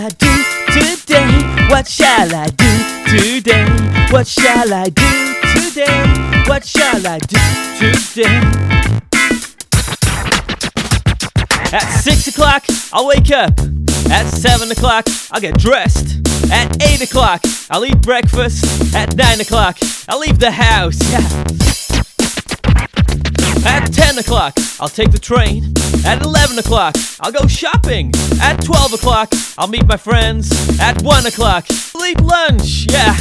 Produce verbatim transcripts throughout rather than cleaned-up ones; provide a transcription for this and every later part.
I do today? What shall I do today? What shall I do today? What shall I do today? At six o'clock, I'll wake up. At seven o'clock, I'll get dressed. At eight o'clock, I'll eat breakfast. At nine o'clock, I'll leave the house. Yeah. At ten o'clock, I'll take the train. At eleven o'clock, I'll go shopping. At twelve o'clock, I'll meet my friends. At one o'clock, I'll eat lunch. Yeah.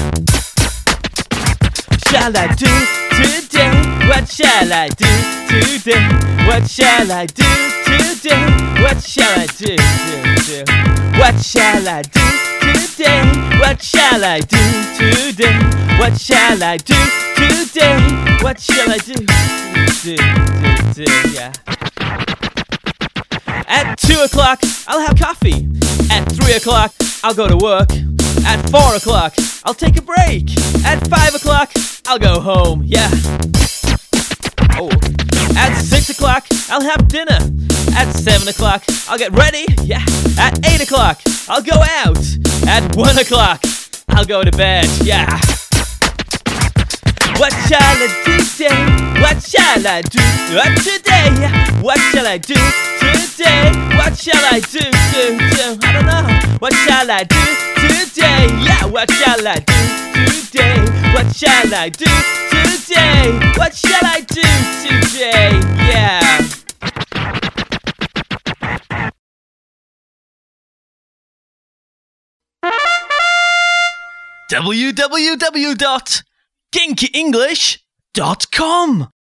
Shall I do today? What shall I do today? What shall I do today? What shall I do, do, do? What shall I do today? What shall I do today? What shall I do today? What shall I do, do, do, do, yeah. At two o'clock, I'll have coffee. At three o'clock, I'll go to work. At four o'clock, I'll take a break. At five o'clock, I'll go home, yeah. Oh. At six o'clock, I'll have dinner. At seven o'clock, I'll get ready, yeah. At eight o'clock, I'll go out. At one o'clock, I'll go to bed, yeah. What shall I do today? What shall I do uh, today? What shall I do today? What shall I do, do, do? I don't know. What shall I do today? Yeah, what shall I do today? What shall I do today? What shall I do today? Yeah. w w w dot kinky english dot com